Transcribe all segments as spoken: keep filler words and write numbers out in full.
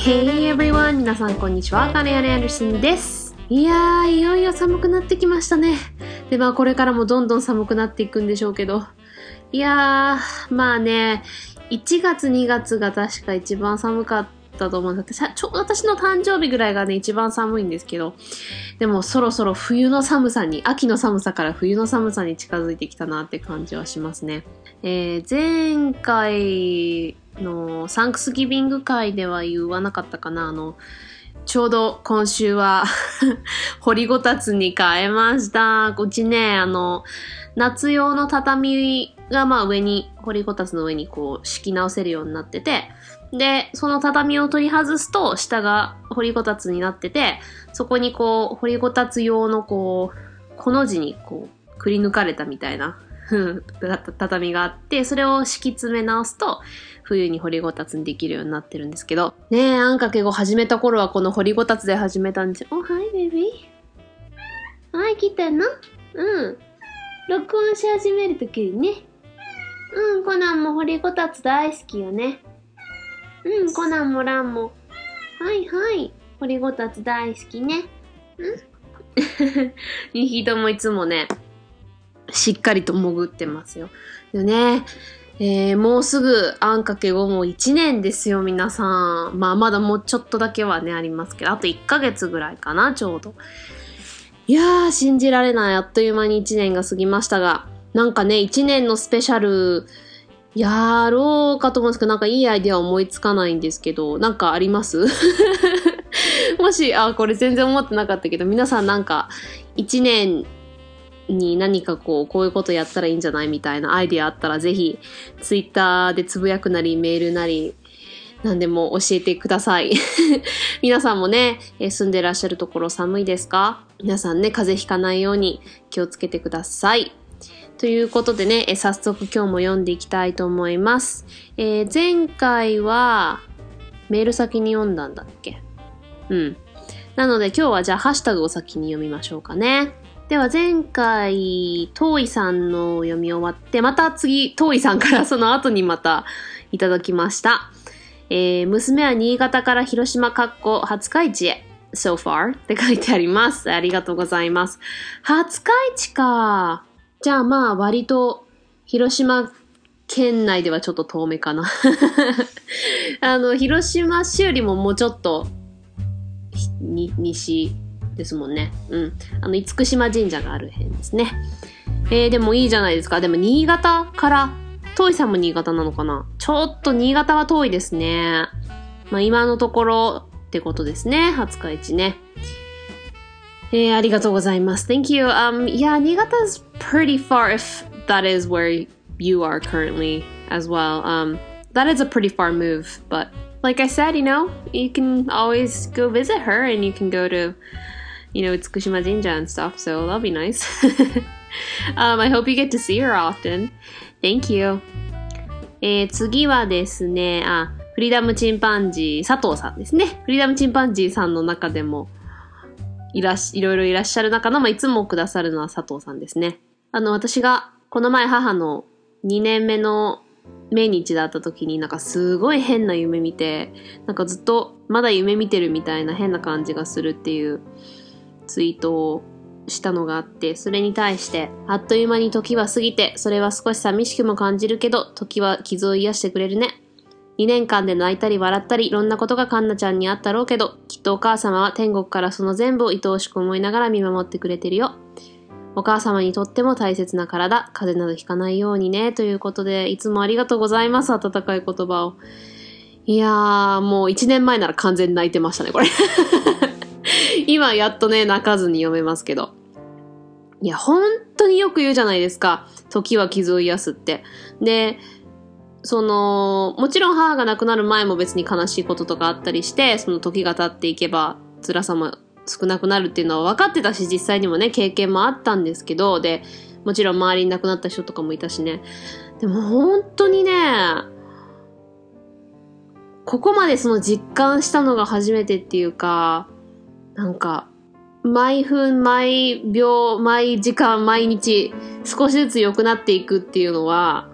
Hey everyone! 皆さんこんにちは。金谷アンダーソンです。いやー、いよいよ寒くなってきましたね。で、まあこれからもどんどん寒くなっていくんでしょうけど。いやー、まあね、いちがつにがつが確か一番寒かったと思うんです。ちょうど私の誕生日ぐらいがね、一番寒いんですけど。でもそろそろ冬の寒さに、秋の寒さから冬の寒さに近づいてきたなって感じはしますね。えー、前回のサンクスギビング会では言わなかったかな。あの、ちょうど今週は掘りごたつに変えました。うちね、あの、夏用の畳がまあ上に、掘りごたつの上にこう敷き直せるようになってて、で、その畳を取り外すと下が掘りごたつになってて、そこにこう、掘りごたつ用のこう、この字にこう、くり抜かれたみたいな畳があって、それを敷き詰め直すと、冬に掘りごたつにできるようになってるんですけど。ねえ、あんかけご始めた頃はこの掘りごたつで始めたんですよ。お、はい、ベビー。はい、来たの？うん。録音し始めるときにね。うん、コナンも掘りごたつ大好きよね。うん、コナンもランも。はいはい。掘りごたつ大好きね。んにひともいつもね、しっかりと潜ってますよ。よね。えー、もうすぐあんかけごもいちねんですよ、皆さん。まあまだもうちょっとだけはね、ありますけど、あといっかげつぐらいかな、ちょうど。いやー、信じられない。あっという間にいちねんが過ぎましたが、なんかね、いちねんのスペシャル、やろうかと思うんですけど、なんかいいアイデア思いつかないんですけど、なんかありますもし、あ、これ全然思ってなかったけど、皆さんなんか、いちねんに何かこう、こういうことやったらいいんじゃないみたいなアイデアあったら、ぜひ、ツイッターでつぶやくなり、メールなり、何でも教えてください。皆さんもね、住んでらっしゃるところ寒いですか？皆さんね、風邪ひかないように気をつけてください。ということでね、え早速今日も読んでいきたいと思います。えー、前回はメール先に読んだんだっけ？うん。なので今日はじゃあハッシュタグを先に読みましょうかね。では前回、トーイさんの読み終わって、また次、トーイさんからその後にまたいただきました。えー、娘は新潟から広島かっこ廿日市へ。so far って書いてあります。ありがとうございます。廿日市か。じゃあまあ割と広島県内ではちょっと遠めかな。あの、広島市よりももうちょっとに西ですもんね。うん。あの、厳島神社がある辺ですね。えー、でもいいじゃないですか。でも新潟から、遠いさんも新潟なのかな？ちょっと新潟は遠いですね。まあ今のところってことですね。廿日市ね。えー、ありがとうございます。Thank you. Um, yeah, 新潟 is pretty far if that is where you are currently as well. Um, that is a pretty far move, but like I said, you know, you can always go visit her and you can go to, you know, 厳島神社 and stuff, so that'll be nice. um, I hope you get to see her often. Thank you. えー、次はですね、あ、フリーダムチンパンジー、佐藤さんですね。フリーダムチンパンジーさんの中でも、いらし、いろいろいらっしゃる中の、まあ、いつもくださるのは佐藤さんですね。あの、私が、この前母のにねんめの命日だった時になんかすごい変な夢見て、なんかずっとまだ夢見てるみたいな変な感じがするっていうツイートをしたのがあって、それに対して、あっという間に時は過ぎて、それは少し寂しくも感じるけど、時は傷を癒してくれるね。にねんかんで泣いたり笑ったり、いろんなことがカンナちゃんにあったろうけど、きっとお母様は天国からその全部を愛おしく思いながら見守ってくれてるよ。お母様にとっても大切な体、風邪などひかないようにね、ということで、いつもありがとうございます、温かい言葉を。いやー、もういちねんまえなら完全に泣いてましたね、これ。今やっとね、泣かずに読めますけど。いや、本当によく言うじゃないですか。時は傷を癒すって。で、その、もちろん母が亡くなる前も別に悲しいこととかあったりして、その時が経っていけば辛さも少なくなるっていうのは分かってたし、実際にもね、経験もあったんですけど、で、もちろん周りに亡くなった人とかもいたしね。でも本当にね、ここまでその実感したのが初めてっていうか、なんか、毎分、毎秒、毎時間、毎日、少しずつ良くなっていくっていうのは、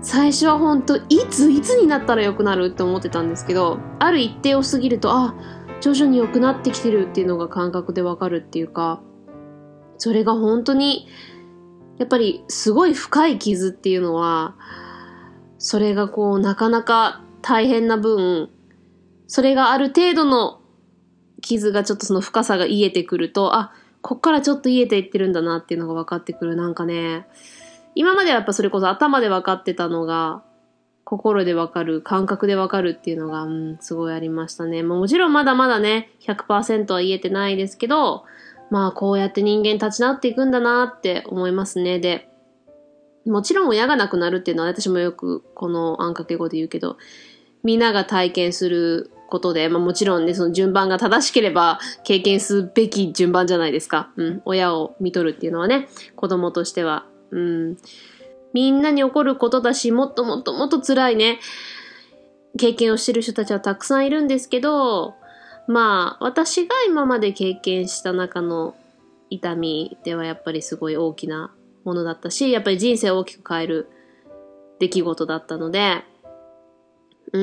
最初は本当いついつになったら良くなるって思ってたんですけど、ある一定を過ぎると、あ、徐々に良くなってきてるっていうのが感覚でわかるっていうか、それが本当にやっぱりすごい深い傷っていうのは、それがこうなかなか大変な分、それがある程度の傷がちょっとその深さが癒えてくると、あ、こっからちょっと癒えていってるんだなっていうのが分かってくる。なんかね、今まではやっぱそれこそ頭で分かってたのが、心で分かる、感覚で分かるっていうのが、うん、すごいありましたね。まあ、もちろんまだまだね、ひゃくパーセント は言えてないですけど、まあこうやって人間立ち直っていくんだなって思いますね。で、もちろん親が亡くなるっていうのは私もよくこのあんかけ語で言うけど、みんなが体験することで、まあもちろんね、その順番が正しければ経験すべき順番じゃないですか。うん。親を見とるっていうのはね、子供としては。うん。みんなに起こることだし、もっともっともっと辛いね、経験をしてる人たちはたくさんいるんですけど、まあ、私が今まで経験した中の痛みではやっぱりすごい大きなものだったし、やっぱり人生を大きく変える出来事だったので、うん、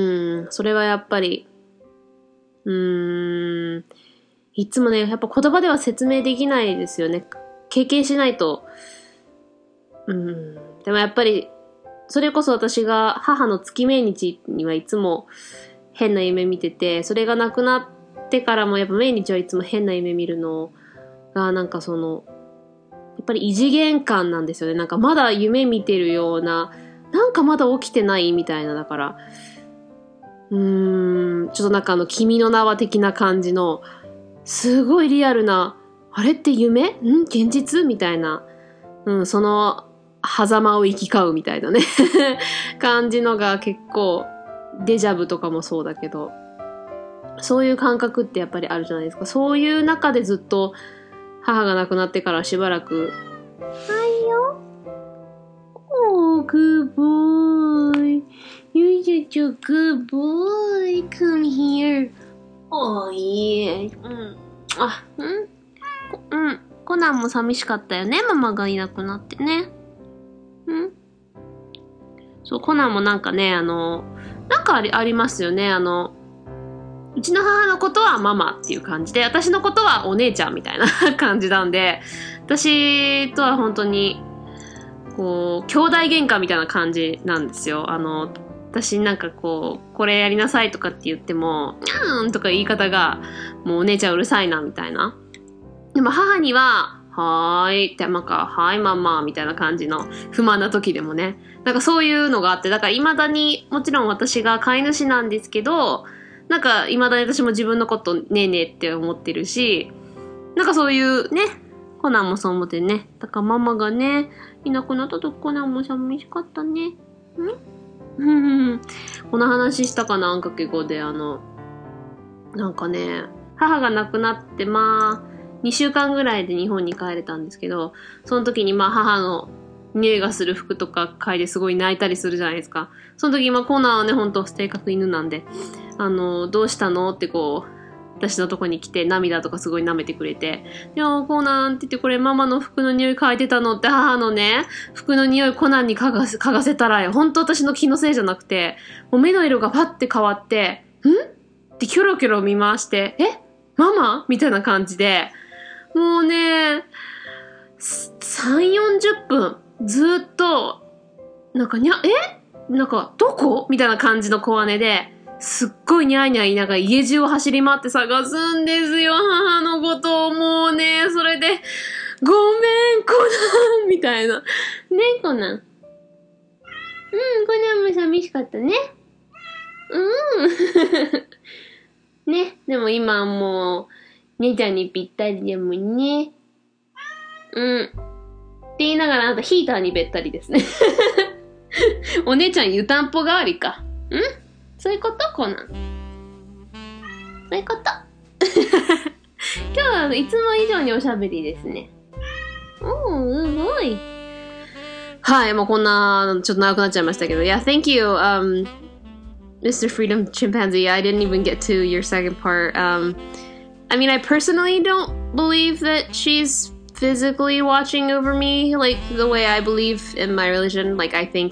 それはやっぱり、うーん、いつもね、やっぱ言葉では説明できないですよね。経験しないと。うん、でもやっぱり、それこそ私が母の月命日にはいつも変な夢見てて、それがなくなってからもやっぱ命日はいつも変な夢見るのが、なんかその、やっぱり異次元感なんですよね。なんかまだ夢見てるような、なんかまだ起きてないみたいな、だから、うーん、ちょっとなんかあの、君の名は的な感じの、すごいリアルな、あれって夢？ん？現実？みたいな、うん、その、狭間を行き交うみたいなね、感じのが結構、デジャブとかもそうだけど、そういう感覚ってやっぱりあるじゃないですか。そういう中でずっと、母が亡くなってからしばらく、はいよ。Oh, good boy. You're such a good boy. Come here. Oh, yeah. うん。あ、うん。うん。コナンも寂しかったよね。ママがいなくなってね。うん。そう、コナンもなんかね、あの、なんかあり、ありますよね。あの、うちの母のことはママっていう感じで、私のことはお姉ちゃんみたいな感じなんで、私とは本当に、こう、兄弟喧嘩みたいな感じなんですよ。あの、私なんかこう、これやりなさいとかって言っても、にゃーんとか言い方が、もうお姉ちゃんうるさいなみたいな。でも母には、はーいって、なんか、はーいママみたいな感じの不満な時でもね。なんかそういうのがあって、だから未だに、もちろん私が飼い主なんですけど、なんか未だに私も自分のことねえねえって思ってるし、なんかそういうね、コナンもそう思ってね。だからママがね、いなくなった時コナンも寂しかったね。んこの話したかな、あんかけ語で、あの、なんかね、母が亡くなってまあ、にしゅうかんぐらいで日本に帰れたんですけど、その時にまあ母の匂いがする服とか嗅いですごい泣いたりするじゃないですか。その時今コナンはね、ほんと性格犬なんで、あの、どうしたのってこう、私のとこに来て涙とかすごい舐めてくれて、でもコナンって言ってこれママの服の匂い嗅いでたのって母のね、服の匂いコナンに嗅がせ、嗅がせたらよ。ほんと私の気のせいじゃなくて、もう目の色がパッて変わって、んってキョロキョロ見回して、えママみたいな感じで、もうね、さん、よんじゅっぷん、ずっと、なんかにゃ、えなんか、どこみたいな感じの小姉で、すっごいニャーニャー言いながら家中を走り回って探すんですよ、母のことを。もうね、それで、ごめん、コナンみたいな。ね、コナン。うん、コナンも寂しかったね。うん。ね、でも今もう、姉ちゃんにぴったりでもね。うん。って言いながら、あなたヒーターにべったりですね。お姉ちゃん湯たんぽ代わりか。んそういうことコナン。そういうこと。今日はいつも以上におしゃべりですね。おー、すごい。はい、もうこんな、ちょっと長くなっちゃいましたけど。Yeah, thank you, um, Mister Freedom Chimpanzee. I didn't even get to your second part. Um, I mean, I personally don't believe that she's physically watching over me like the way I believe in my religion. Like, I think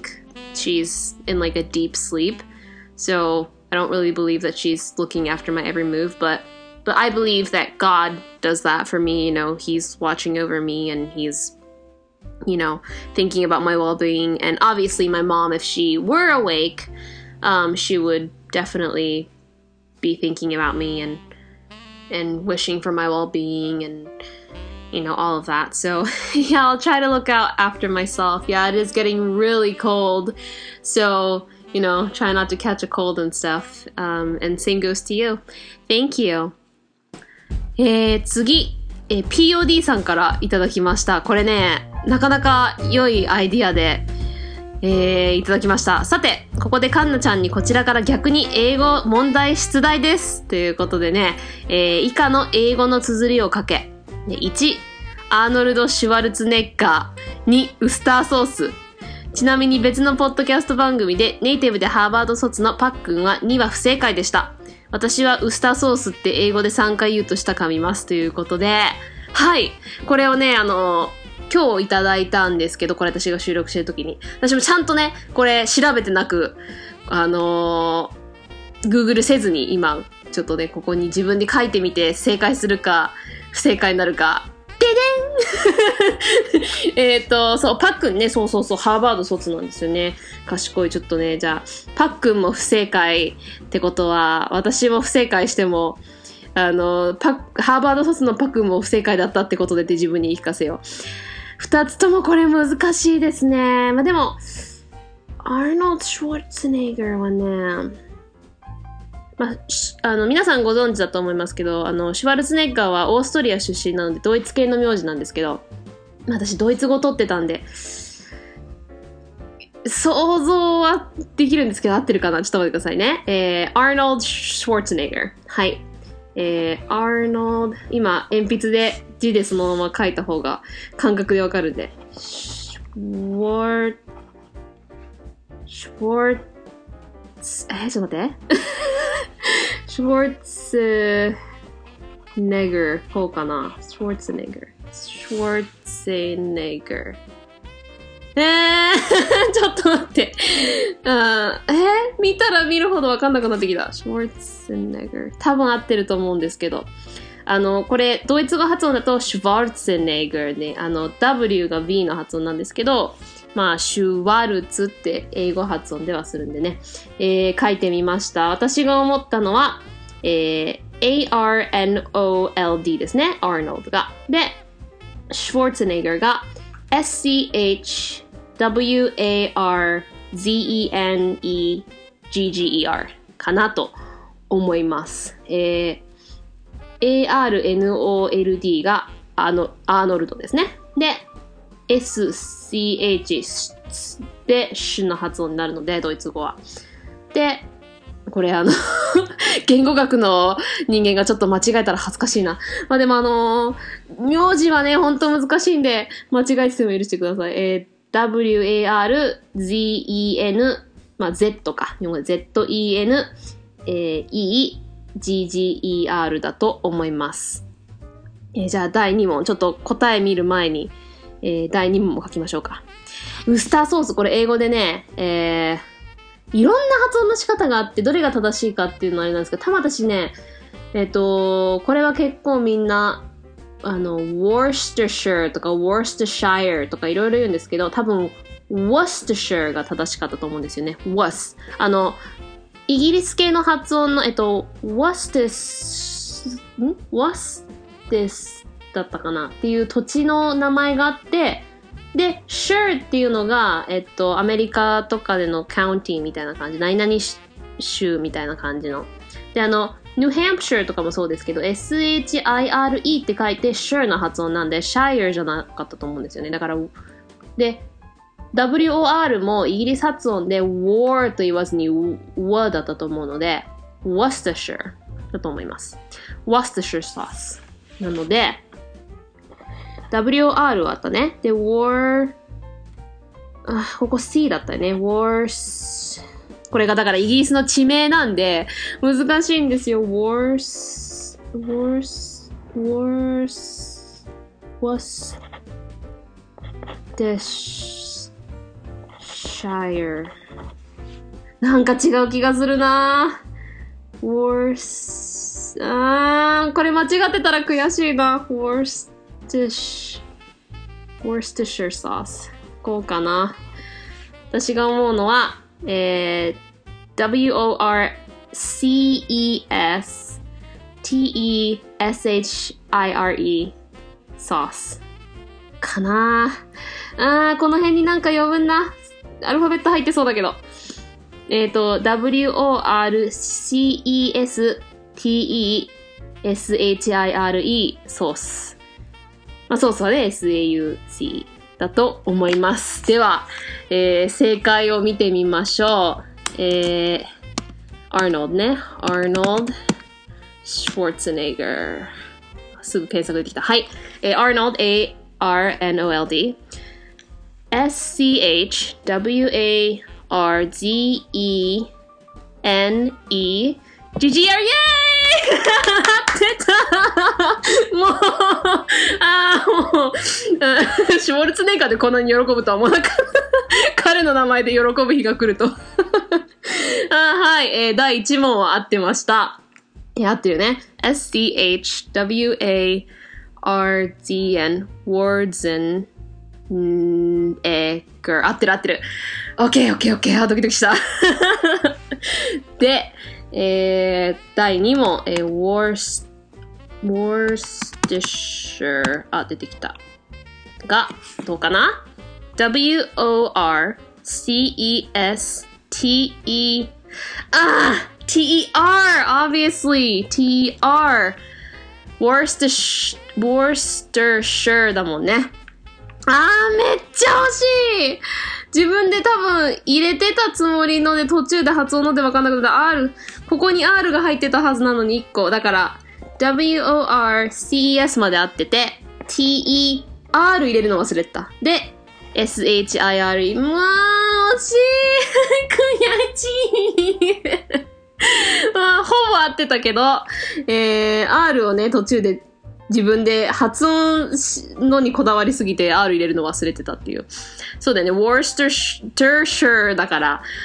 she's in like a deep sleep. So I don't really believe that she's looking after my every move, but but I believe that God does that for me. You know, He's watching over me and He's, you know, thinking about my well-being. And obviously my mom, if she were awake, um, she would definitely be thinking about me and and wishing for my well-being and, you know, all of that. So yeah, I'll try to look out after myself. Yeah, it is getting really cold. So, you know, try not to catch a cold and stuff. Um, and same goes to you. Thank you. えー、次、えー、ピーオーディー さんからいただきました。これね、なかなか良いアイディアで、えー、いただきました。さて、ここでカンナちゃんにこちらから逆に英語問題出題です。ということでね、えー、以下の英語の綴りを書け。いち、アーノルド・シュワルツネッガー。に、ウスターソース。ちなみに別のポッドキャスト番組でネイティブでハーバード卒のパックンはには不正解でした。私はウスターソースって英語でさんかい言うとした噛みますということで、はい。これをね、あの、今日いただいたんですけど、これ私が収録してる時に。私もちゃんとね、これ調べてなく、あのー、Google せずに今、ちょっとね、ここに自分で書いてみて正解するか、不正解になるか、ででんえっと、そう、パックンね、そうそうそう、ハーバード卒なんですよね。賢い、ちょっとね、じゃあ、パックンも不正解ってことは、私も不正解しても、あの、パッ、ハーバード卒のパックンも不正解だったってことでって自分に言い聞かせよう。二つともこれ難しいですね。まあ、でも、アーノルド・シュワルツェネッガーはね、まあ、あの、皆さんご存知だと思いますけど、あの、シュワルツェネッガーはオーストリア出身なので、ドイツ系の名字なんですけど、私、ドイツ語取ってたんで、想像はできるんですけど、合ってるかなちょっと待ってくださいね。えー、アーノルド・シュワルツェネッガー。はい。えー、アーノルド、今、鉛筆で字でそのまま書いた方が感覚でわかるんで。シュワル、シュワルツ、えー、ちょっと待って。シュワルツネガー、こうかな。シュワルツネガー。シュワルツネガー。えー、ちょっと待って。あえー、見たら見るほどわかんなくなってきた。シュワルツネガー。多分合ってると思うんですけど。あの、これ、ドイツ語発音だと、シュワルツネガーね。あの、W が V の発音なんですけど、まあ、シュワルツって英語発音ではするんでね。えー、書いてみました。私が思ったのは、えー、エーアールエヌオーエルディー ですね。アーノルドが。で、シュワルツネガーが エスシーエイチダブリューエーアールゼットエヌイージージーイーアール かなと思います。えー、エーアールエヌオーエルディー があのアーノルドですね。で、エスシーエイチ でシュの発音になるので、ドイツ語は。で、これあの言語学の人間がちょっと間違えたら恥ずかしいな。まあでもあのー、名字はね、ほんと難しいんで、間違えてても許してください。えー、ダブリューエーアールゼットエヌ、まあ Z か。ゼットイーエヌ、えー、イージージーイーアール だと思います。えー、じゃあだいに問、ちょっと答え見る前に、えー、だいに問も書きましょうか。ウスターソース、これ英語でね、えー、いろんな発音の仕方があって、どれが正しいかっていうのはあれなんですけど、たま私ね、えっと、これは結構みんな、あの、Worcestershire とか Worcestershire とかいろいろ言うんですけど、多分、Worcestershire が正しかったと思うんですよね。Was。あの、イギリス系の発音の、えっと、Worcester、ん Worcester だったかなっていう土地の名前があって、で、shire っていうのが、えっと、アメリカとかでの county みたいな感じ、何々州みたいな感じの。で、あの、ニューハンプシャーとかもそうですけど、エスエイチアイアールイー って書いて shire の発音なんで、shire じゃなかったと思うんですよね。だから、で、ダブリューオーアール もイギリス発音で war と言わずに w だったと思うので、Worcestershire だと思います。Worcestershire sauce。なので、ダブリューオーアール はあったね。で、war、あ、ここ C だったよね。war、これがだからイギリスの地名なんで、難しいんですよ。war、war、war、was、で、shire。 Worcestershire なんか違う気がするな Worc あーこれ間違ってたら悔しいな Worcestershire Worcestershire sauce こうかな私が思うのは、えー、ダブリュー オー アール シー イー エス ティー イー エス エイチ アイ アール イー sauce かなあーこの辺になんか余分なアルファベット入ってそうだけどえっ、ー、と ダブリュー オー アール シー イー エス ティー イー エス エイチ アイ アール イー ソースまあソースはね エス エー ユー シー だと思いますでは、えー、正解を見てみましょうえー、アーノルドねアーノルドシュワルツェネッガーすぐ検索できたはい、えー、アーノルド A R N O L D S C H W A R Z E N E G G R イエーイ出たもうあーもうシュワルツェネッガーでこんなに喜ぶとは思わなかった彼の名前で喜ぶ日が来るとあはい、えー、だいいち問は合ってましたいや合ってるね S C H W A R Z N Warzen んえー、合ってる合ってる OK OK OK あドキドキしたで、えー、だいに問、えー、Worc Worcestershire あ出てきたがどうかな W O R C E S T E あー T E R obviously T E R Worcestershire Worcestershire だもんねあーめっちゃ惜しい自分で多分入れてたつもりので途中で発音ので分かんなくなった R ここに R が入ってたはずなのにいっこだから W O R C E S まで合ってて T E R 入れるの忘れてたで S H I R E まあ惜しい悔しいまあほぼ合ってたけど、えー、R をね途中で自分で発音のにこだわりすぎて R 入れるの忘れてたっていう。そうだよね。Worcestershire だから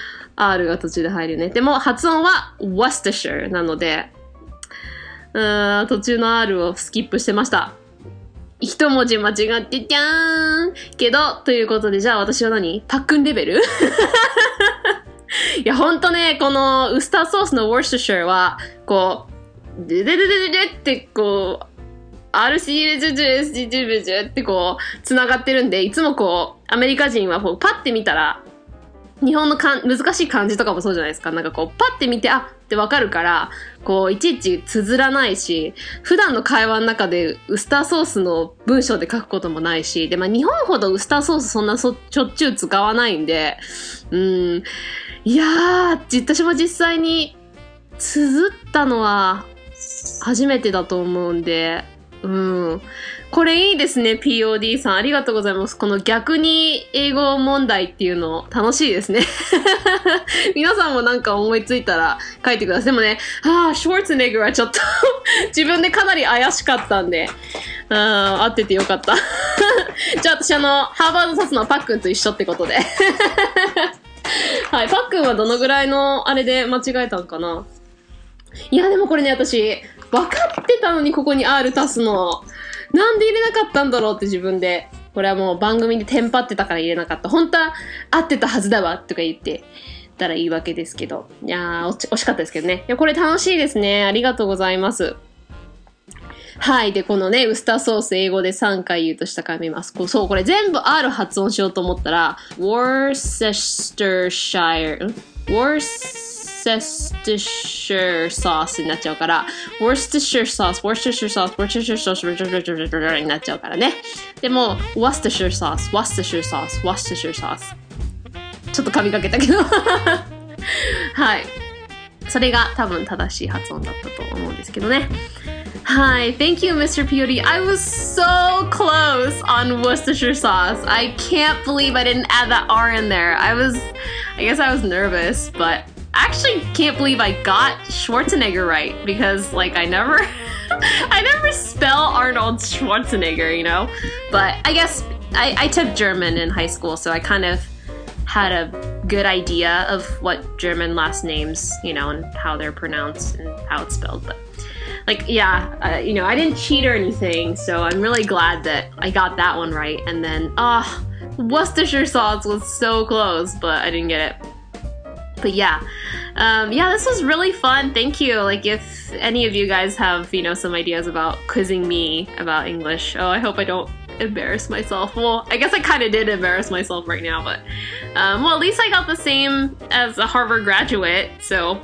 R が途中で入るよね。でも発音は Worcestershire なので、うーん途中の R をスキップしてました。一文字間違ってじゃーんけど、ということでじゃあ私は何パックンレベルいやほんとね、このウスターソースの Worcestershire は、こう、デデデデデデってこう、アールシーエスジェーエスジェーエス ってこう、つながってるんで、いつもこう、アメリカ人はこう、パッて見たら、日本のかん難しい漢字とかもそうじゃないですか。なんかこう、パッて見て、あってわかるから、こう、いちいち綴らないし、普段の会話の中でウスターソースの文章で書くこともないし、で、まあ日本ほどウスターソースそんなそしょっちゅう使わないんで、うーん、いやー、私も実際に綴ったのは初めてだと思うんで、うん。これいいですね、ピーオーディー さん。ありがとうございます。この逆に英語問題っていうの楽しいですね。皆さんもなんか思いついたら書いてください。でもね、ああ、シュワルツェネッガーはちょっと自分でかなり怪しかったんで、あ合っててよかった。じゃあ私あの、ハーバード卒のパックンと一緒ってことで。はい、パックンはどのぐらいのあれで間違えたんかな。いや、でもこれね、私、分かってたのにここに R 足すの。なんで入れなかったんだろうって自分で。これはもう番組でテンパってたから入れなかった。本当は合ってたはずだわとか言ってたらいいわけですけど。いやー、惜しかったですけどね。いや、これ楽しいですね。ありがとうございます。はい。で、このね、ウスターソース英語でさんかい言うとしたから見ます。こうそう、これ全部 R 発音しようと思ったら、Worcestershire、Worcestershire sauce になっちゃうから、Worcestershire sauce、Worcestershire sauce、Worcestershire sauce になっちゃうからね。でも、Worcestershire sauce、Worcestershire sauce、Worcestershire sauce。ちょっと噛みかけたけど。はい。それが多分正しい発音だったと思うんですけどね。Hi, thank you, Mister P O D. I was so close on Worcestershire sauce. I can't believe I didn't add that R in there. I was, I guess I was nervous, but I actually can't believe I got Schwarzenegger right because, like, I never, I never spell Arnold Schwarzenegger, you know? But I guess I, I took German in high school, so I kind of had a good idea of what German last names, you know, and how they're pronounced and how it's spelled. But like, yeah, uh, you know, I didn't cheat or anything, so I'm really glad that I got that one right. And then, ah, oh, Worcestershire sauce was so close, but I didn't get it. But yeah, um, yeah, this was really fun. Thank you. Like, if any of you guys have, you know, some ideas about quizzing me about English, oh, I hope I don't embarrass myself. Well, I guess I kind of did embarrass myself right now, but um, well, at least I got the same as a Harvard graduate, so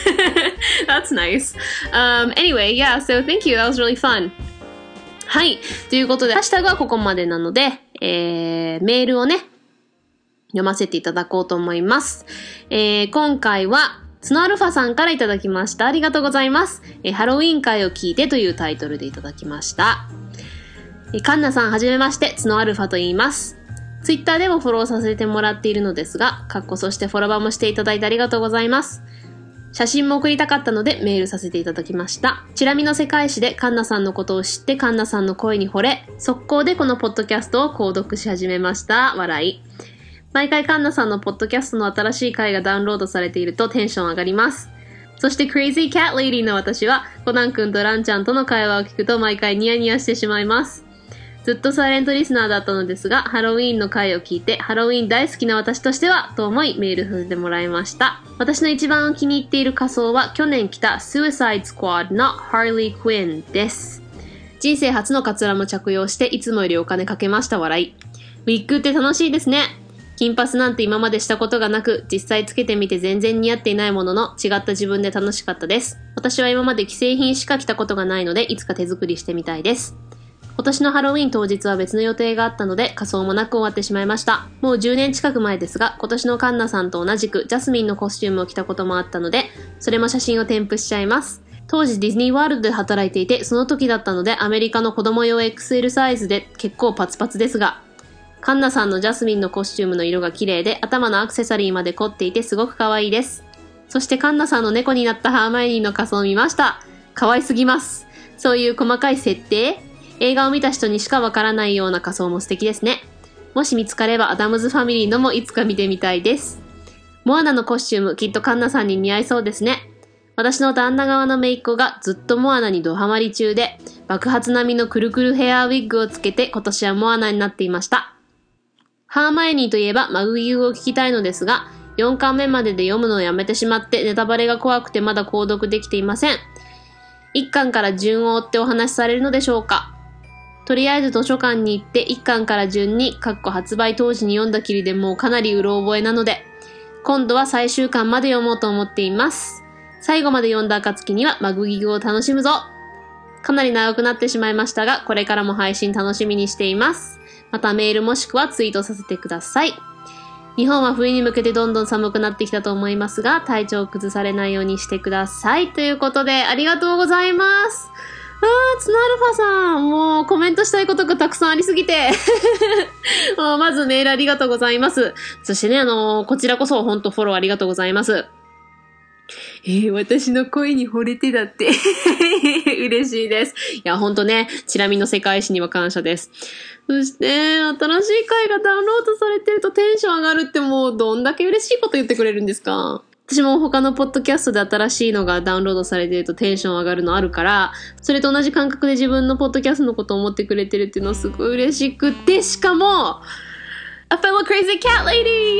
that's nice. Um, anyway, yeah, so thank you. That was really fun. はい。ということで、ハッシュタグはここまでなので、えー、メールをね、読ませていただこうと思います。えー、今回は、スノアルファさんからいただきました。ありがとうございます。えー、ハロウィン会を聞いてというタイトルでいただきました。えー、カンナさんはじめまして、スノアルファと言います。ツイッターでもフォローさせてもらっているのですが、かっこそしてフォロバーもしていただいてありがとうございます。写真も送りたかったのでメールさせていただきました。チラ見の世界史でカンナさんのことを知ってカンナさんの声に惚れ、速攻でこのポッドキャストを購読し始めました。笑い。毎回カンナさんのポッドキャストの新しい回がダウンロードされているとテンション上がります。そして Crazy Cat Lady の私はコナン君とランちゃんとの会話を聞くと毎回ニヤニヤしてしまいます。ずっとサイレントリスナーだったのですが、ハロウィーンの回を聞いて、ハロウィーン大好きな私としては、と思いメールさせてもらいました。私の一番気に入っている仮装は、去年着た Suicide Squad の Harley Quinn です。人生初のカツラも着用して、いつもよりお金かけました笑い。ウィッグって楽しいですね。金髪なんて今までしたことがなく、実際つけてみて全然似合っていないものの、違った自分で楽しかったです。私は今まで既製品しか着たことがないので、いつか手作りしてみたいです。今年のハロウィン当日は別の予定があったので仮装もなく終わってしまいました。もうじゅうねん近く前ですが、今年のカンナさんと同じくジャスミンのコスチュームを着たこともあったので、それも写真を添付しちゃいます。当時ディズニーワールドで働いていて、その時だったのでアメリカの子供用 エックスエル サイズで結構パツパツですが、カンナさんのジャスミンのコスチュームの色が綺麗で、頭のアクセサリーまで凝っていてすごく可愛いです。そしてカンナさんの猫になったハーマイオニーの仮装を見ました。可愛すぎます。そういう細かい設定映画を見た人にしかわからないような仮装も素敵ですね。もし見つかればアダムズファミリーのもいつか見てみたいです。モアナのコスチュームきっとカンナさんに似合いそうですね。私の旦那側の姪っ子がずっとモアナにドハマり中で、爆発並みのくるくるヘアウィッグをつけて今年はモアナになっていました。ハーマイオニーといえばマグギュを聞きたいのですが、よんかんめまでで読むのをやめてしまってネタバレが怖くてまだ購読できていません。いっかんから順を追ってお話しされるのでしょうか。とりあえず図書館に行っていっかんから順に、かっこ発売当時に読んだきりでもうかなりうろ覚えなので、今度は最終巻まで読もうと思っています。最後まで読んだ暁にはマグギグを楽しむぞ。かなり長くなってしまいましたが、これからも配信楽しみにしています。またメールもしくはツイートさせてください。日本は冬に向けてどんどん寒くなってきたと思いますが、体調を崩されないようにしてください。ということで、ありがとうございます。あー、ツナアルファさん、もうコメントしたいことがたくさんありすぎて。まずメールありがとうございます。そしてね、あのー、こちらこそ本当フォローありがとうございます。えー、私の声に惚れてだって。嬉しいです。いや、ほんとね、チラ見の世界史には感謝です。そして、新しい回がダウンロードされてるとテンション上がるってもうどんだけ嬉しいこと言ってくれるんですか？私も他のポッドキャストで新しいのがダウンロードされてるとテンション上がるのあるから、それと同じ感覚で自分のポッドキャストのことを思ってくれてるっていうのはすごい嬉しくて、しかも、A fellow crazy cat lady! イ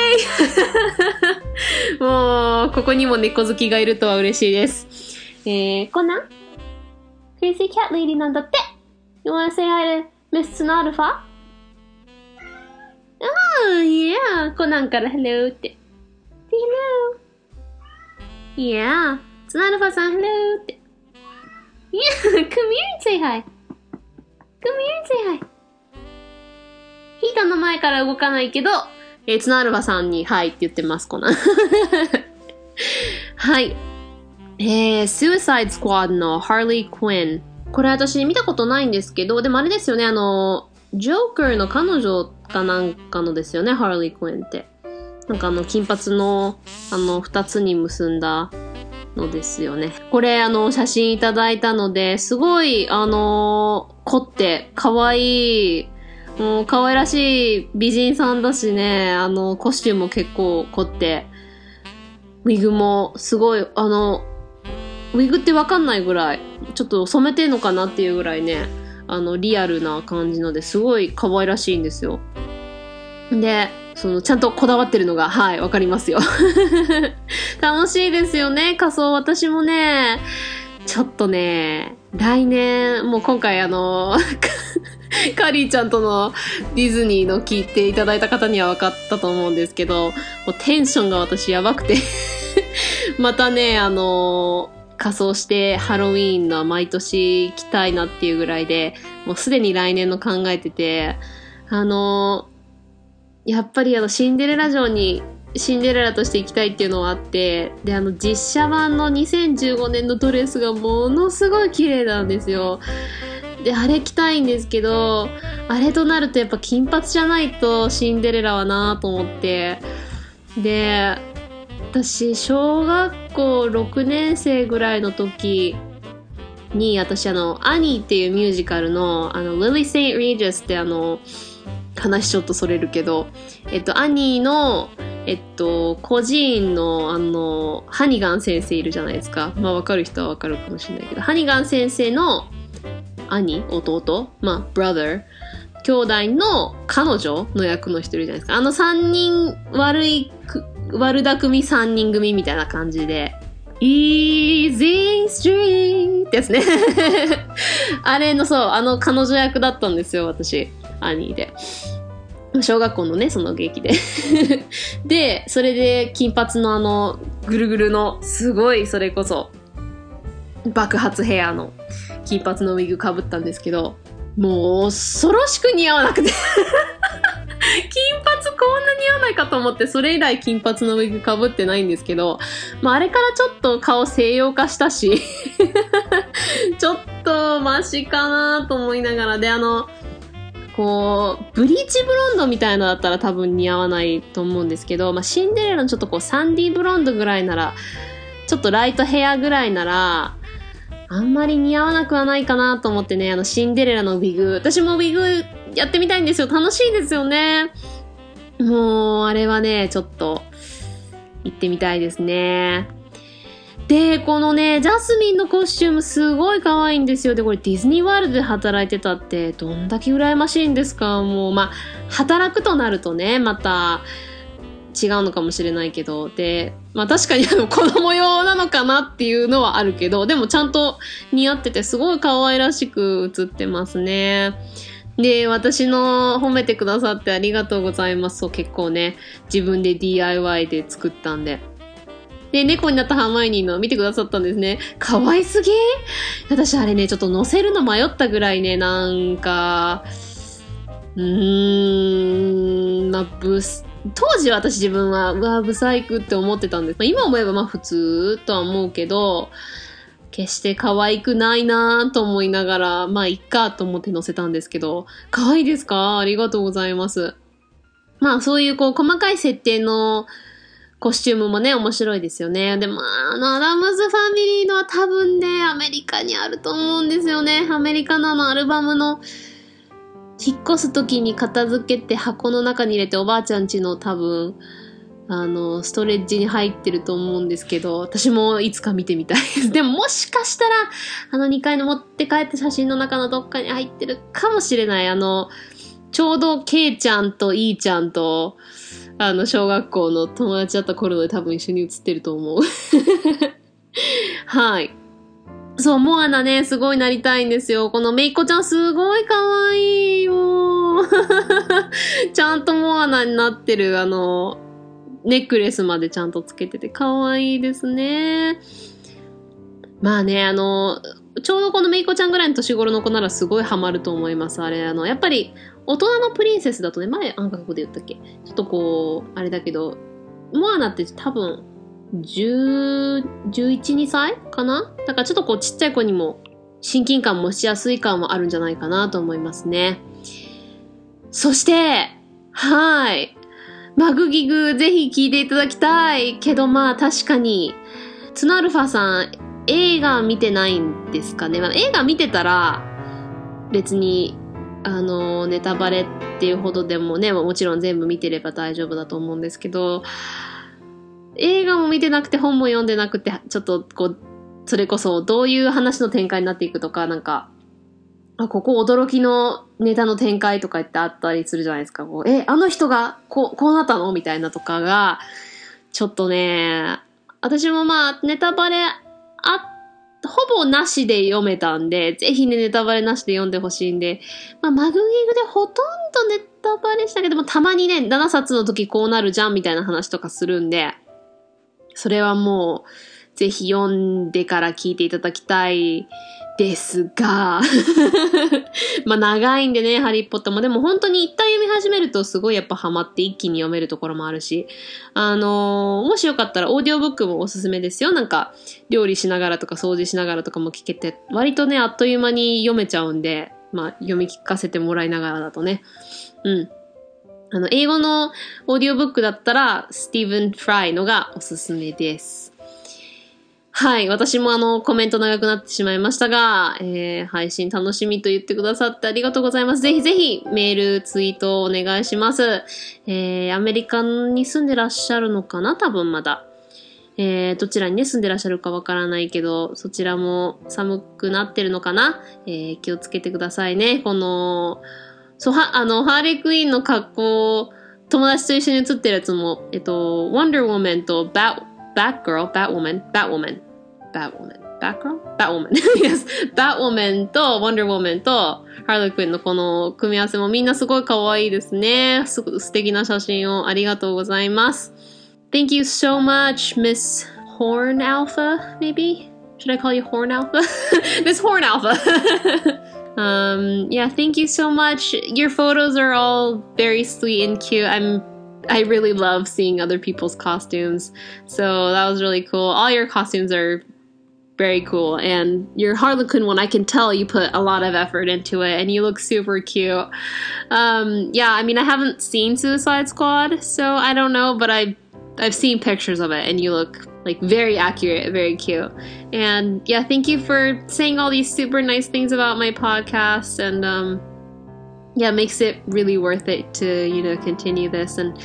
ェーイもう、ここにも猫好きがいるとは嬉しいです。えー、こんなん ?crazy cat lady なんだって You wanna say hi to Miss Tsunarfa? Oh, yeah! コナンから Hello って。Hello! Yeah! Tsunarfa さん Hello って。Yeah! Come here and say hi! Come here and say hi! ヒータの前から動かないけど、えー、ツナアルファさんに、はいって言ってます、コナン。はい。えー、Suicide Squad の Harley Quinn。これ私見たことないんですけど、でもあれですよね、あの、ジョーカーの彼女かなんかのですよね、Harley Quinn って。なんかあの、金髪の、あの、二つに結んだのですよね。これ、あの、写真いただいたので、すごい、あの、凝って、可愛いもう可愛らしい美人さんだしね、あの、コスチュームも結構凝って、ウィグもすごい、あの、ウィグってわかんないぐらい、ちょっと染めてんのかなっていうぐらいね、あの、リアルな感じのですごい可愛らしいんですよ。で、その、ちゃんとこだわってるのが、はい、わかりますよ。楽しいですよね、仮装。私もね、ちょっとね、来年、もう今回あの、カリーちゃんとのディズニーの聞いていただいた方には分かったと思うんですけど、もうテンションが私やばくて、またね、あの、仮装してハロウィーンの毎年行きたいなっていうぐらいで、もうすでに来年の考えてて、あの、やっぱりあのシンデレラ城にシンデレラとして行きたいっていうのはあって、で、あの実写版のにせんじゅうごねんのドレスがものすごい綺麗なんですよ。で、あれ着たいんですけど、あれとなるとやっぱ金髪じゃないとシンデレラはなと思って、で、私、小学校ろくねん生ぐらいの時に、私あの、アニーっていうミュージカルの、あの、リリー・セイント・リージャスってあの、話ちょっとそれるけど、えっと、アニーの、えっと、孤児院の、あの、ハニガン先生いるじゃないですか。まあ、わかる人はわかるかもしれないけど、ハニガン先生の兄、弟、まあ、brother、兄弟の彼女の役の人いるじゃないですか。あの三人、悪い、悪巧み三人組みたいな感じで、Easy Street ってやつね。あれの、そう、あの彼女役だったんですよ、私。アニーで。小学校のね、その劇で。で、それで金髪のあの、ぐるぐるの、すごい、それこそ、爆発ヘアの金髪のウィグ被ったんですけど、もう恐ろしく似合わなくて。金髪こんな似合わないかと思って、それ以来金髪のウィグ被ってないんですけど、まああれからちょっと顔西洋化したし、ちょっとマシかなと思いながら、で、あの、こう、ブリーチブロンドみたいなのだったら多分似合わないと思うんですけど、まあシンデレラのちょっとこうサンディブロンドぐらいなら、ちょっとライトヘアぐらいなら、あんまり似合わなくはないかなと思ってね、あのシンデレラのウィグ、私もウィグやってみたいんですよ。楽しいですよね。もう、あれはね、ちょっと、行ってみたいですね。で、このね、ジャスミンのコスチュームすごい可愛いんですよ。で、これディズニーワールドで働いてたって、どんだけ羨ましいんですか。もう、まあ、働くとなるとね、また、違うのかもしれないけど、で、まあ確かにあの子供用なのかなっていうのはあるけど、でもちゃんと似合っててすごい可愛らしく映ってますね。で、私の褒めてくださってありがとうございます。そう、結構ね、自分で ディーアイワイ で作ったんで。で、猫になったハーマイニーの見てくださったんですね。可愛すぎ？私あれね、ちょっと乗せるの迷ったぐらいね、なんか、うーん、まあ、ブス、当時私自分は、うわ、ブサイクって思ってたんです。まあ、今思えばまあ普通とは思うけど、決して可愛くないなと思いながら、まあいっかと思って載せたんですけど、可愛いですか？ありがとうございます。まあそういうこう細かい設定のコスチュームもね、面白いですよね。でも、あの、アダムズファミリーのは多分ね、アメリカにあると思うんですよね。アメリカのあのアルバムの、引っ越す時に片付けて箱の中に入れておばあちゃん家の多分、あの、ストレッジに入ってると思うんですけど、私もいつか見てみたいです。でももしかしたら、あのにかいの持って帰った写真の中のどっかに入ってるかもしれない。あの、ちょうどケイちゃんとイーちゃんと、あの、小学校の友達だった頃で多分一緒に写ってると思う。はい。そう、モアナね、すごいなりたいんですよ。このメイコちゃんすごい可愛いよ。ちゃんとモアナになってる、あの、ネックレスまでちゃんとつけてて可愛いですね。まあね、あの、ちょうどこのメイコちゃんぐらいの年頃の子ならすごいハマると思います。あれ、あの、やっぱり、大人のプリンセスだとね、前、あんかここで言ったっけ？ちょっとこう、あれだけど、モアナって多分、じゅう、じゅういち、にさいかな？だからちょっとこう、ちっちゃい子にも、親近感もしやすい感もあるんじゃないかなと思いますね。そして、はい。マグギグ、ぜひ聞いていただきたい。けどまあ、確かに、ツナルファさん、映画見てないんですかね。まあ、映画見てたら、別に、 あの、ネタバレっていうほどでもね、もちろん全部見てれば大丈夫だと思うんですけど、映画も見てなくて本も読んでなくて、ちょっとこう、それこそどういう話の展開になっていくとか、なんか、あ、ここ驚きのネタの展開とか言ってあったりするじゃないですか。こうえ、あの人がこう、こうなったのみたいなとかが、ちょっとね、私もまあ、ネタバレあ、ほぼなしで読めたんで、ぜひね、ネタバレなしで読んでほしいんで、まあ、マグギグでほとんどネタバレしたけども、たまにね、ななさつの時こうなるじゃんみたいな話とかするんで、それはもう、ぜひ読んでから聞いていただきたいですが、まあ長いんでね、ハリーポッターも。でも本当に一旦読み始めるとすごいやっぱハマって一気に読めるところもあるし、あのー、もしよかったらオーディオブックもおすすめですよ。なんか、料理しながらとか掃除しながらとかも聞けて、割とね、あっという間に読めちゃうんで、まあ読み聞かせてもらいながらだとね。うん。あの、英語のオーディオブックだったら、スティーブン・フライのがおすすめです。はい。私もあの、コメント長くなってしまいましたが、えー、配信楽しみと言ってくださってありがとうございます。ぜひぜひメール、ツイートをお願いします。えー、アメリカに住んでらっしゃるのかな多分まだ。えー、どちらにね、住んでらっしゃるかわからないけど、そちらも寒くなってるのかなえー、気をつけてくださいね。この、そう、は、あの、ハーレークイーンの格好、友達と一緒に写ってるやつも、えっと、Wonder Woman と Bat、Batgirl、Batwoman、Batwoman、Batwoman、Batgirl? Batwoman. Yes. Batwoman と Wonder Woman と Harley Quinn のこの組み合わせもみんなすごい可愛いですね。すご素敵な写真をありがとうございます。Thank you so much, Miss Horn Alpha, maybe? Should I call you Horn Alpha? Miss Horn Alpha. um, yeah, thank you so much. Your photos are all very sweet and cute. I'm I really love seeing other people's costumes. So that was really cool. All your costumes are very cool. And your Harlequin one, I can tell you put a lot of effort into it and you look super cute. Um, yeah, I mean, I haven't seen Suicide Squad, so I don't know, but I, I've seen pictures of it and you look like very accurate, very cute. And yeah, thank you for saying all these super nice things about my podcast. And, um, yeah, it makes it really worth it to, you know, continue this. And,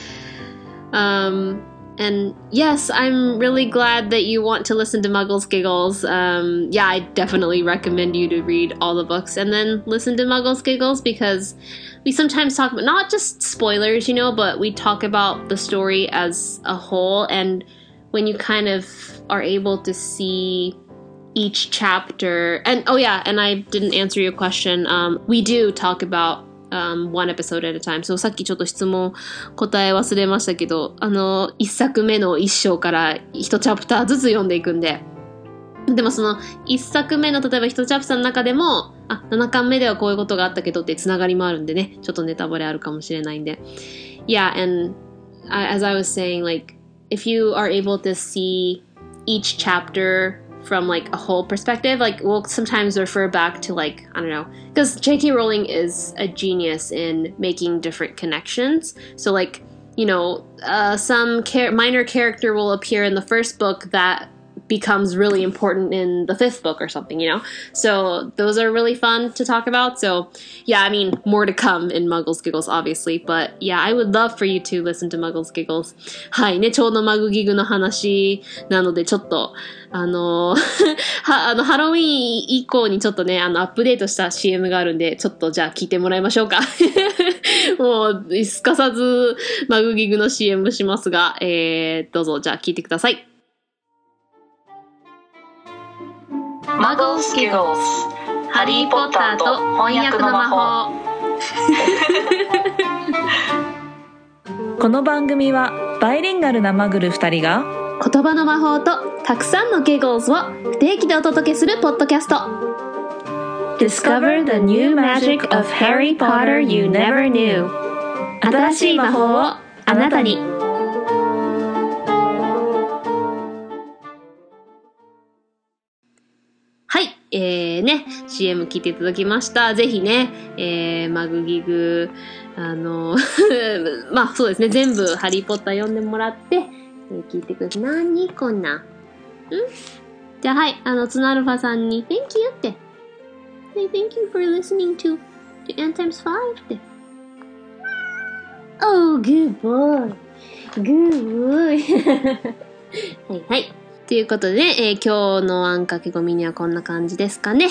um, and yes, I'm really glad that you want to listen to Muggles Giggles. Um, yeah, I definitely recommend you to read all the books and then listen to Muggles Giggles because we sometimes talk about not just spoilers, you know, but we talk about the story as a whole. And when you kind of are able to see each chapter, and oh yeah, and I didn't answer your question. Um, we do talk about Um, one episode at a time. So さっきちょっと質問答え忘れましたけど、あの、一作目の一章から一チャプターずつ読んでいくんで。でもその一作目の例えば一チャプターの中でも、あ、ななかんめではこういうことがあったけどってつながりもあるんでね、ちょっとネタバレあるかもしれないんで。Yeah, and as I was saying, like, if you are able to see each chapter from like a whole perspective, like we'll sometimes refer back to like, I don't know, because J K Rowling is a genius in making different connections. So like, you know, uh, some char- minor character will appear in the first book that becomes really important in the fifth book or something, you know? So those are really fun to talk about. So yeah, I mean, more to come in Muggles Giggles, obviously. But yeah, I would love for you to listen to Muggles Giggles. はいね、ちょうどマグギグの話なので、ちょっと、あの、は、あの、ハロウィーン以降にちょっとね、あの、アップデートした シーエム があるんで、ちょっとじゃあ聞いてもらいましょうか。もう、すかさずマグギグの シーエム しますが、えー、どうぞ、じゃあ聞いてください。 Muggles Giggles ハリー・ポッターと翻訳の魔法この番組はバイリンガルなマグルふたりが言葉の魔法とたくさんの Giggles を不定期でお届けするポッドキャスト Discover the new magic of Harry Potter you never knew 新しい魔法をあなたにはい、えー、ね、シーエム 聞いていただきました。ぜひね、えー、マグギグ、あの、まあそうですね、全部ハリーポッター読んでもらって、えー、聞いてください。なにこんな。んじゃあはい、あの、ツナアルファさんに Thank you って。Say thank you for listening to n times five って。Oh, good boy. Good boy. はいはい。ということで、えー、今日のあんかけごみにはこんな感じですかね。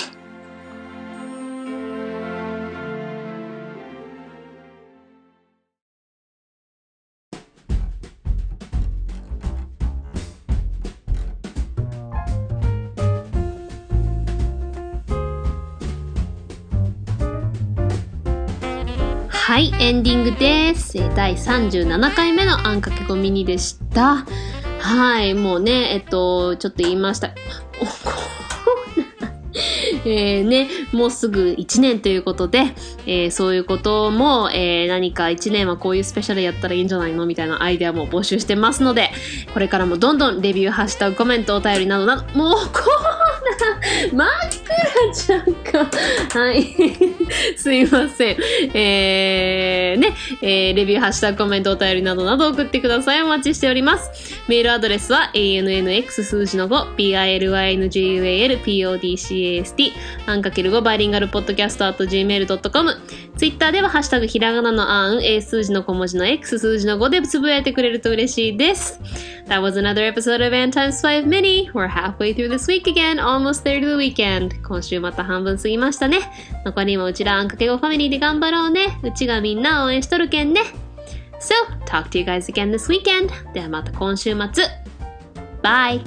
はい、エンディングです。だいさんじゅうななかいめのあんかけごミニでした。はい、もうね、えっと、ちょっと言いました。えーね、もうすぐいちねんということで、えー、そういうことも、えー、何かいちねんはこういうスペシャルやったらいいんじゃないのみたいなアイデアも募集してますので、これからもどんどんレビュー、ハッシュタグ、コメント、お便りなどなど、もうこうな、真っ暗ちゃんか。はい。すいません。えー、ね、えー、レビュー、ハッシュタグ、コメント、お便りなどなど送ってください。お待ちしております。メールアドレスは エーエヌエヌエックス 数字の ご、ピーアイエルワイエヌジーユーエーエルピーオーディーシーエーエスティー、あんかけるごバイリンガルポッドキャスト at ジーメールドットコム。ツイッターではハッシュタグひらがなのあん、A 数字の小文字の X 数字のごでつぶやいてくれると嬉しいです。That was another episode of N times five Mini. We're halfway through this week again, almost there to the weekend. 今週また半分過ぎましたね。残りもうちらあんかけごファミリーで頑張ろうね。うちがみんな応援しとるけんね。So, talk to you guys again this weekend. ではまた今週末。Bye!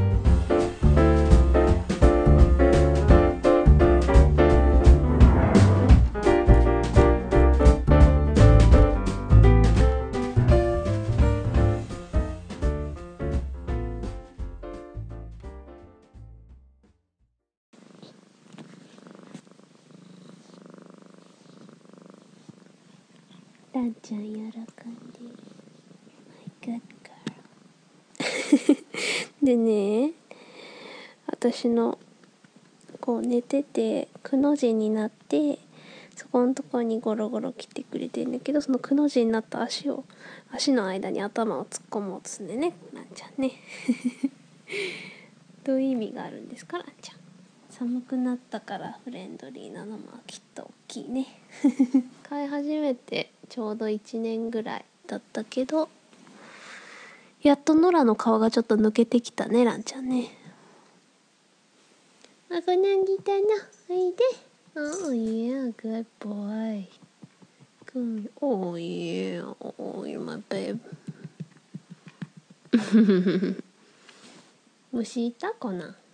ランちゃん喜んでる。My good girl. でね、私のこう寝ててくの字になってそこのところにゴロゴロ来てくれてるんだけど、そのくの字になった足を足の間に頭を突っ込もうとすんでね、ランちゃんね。どういう意味があるんですか、ランちゃん。寒くなったからフレンドリーなのもきっと大きいね。飼い始めてちょうどいちねんぐらいだったけど、やっとノラの皮がちょっと抜けてきたね、ランちゃんね。あ、こなんぎたな。おいで。Oh yeah, good boy. Good. Oh yeah. Oh, you're my babe. 虫いたかな。